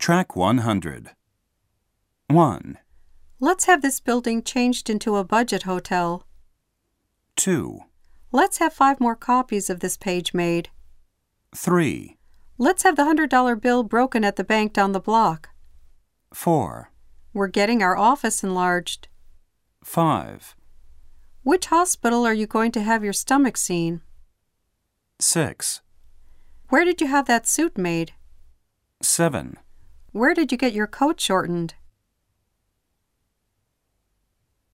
Track 100. 1, Let's have this building changed into a budget hotel. 2, Let's have 5 more copies of this page made. 3, Let's have the $100 bill broken at the bank down the block. 4, We're getting our office enlarged. 5, Which hospital are you going to have your stomach seen? 6, Where did you have that suit made? 7, Where did you get your coat shortened?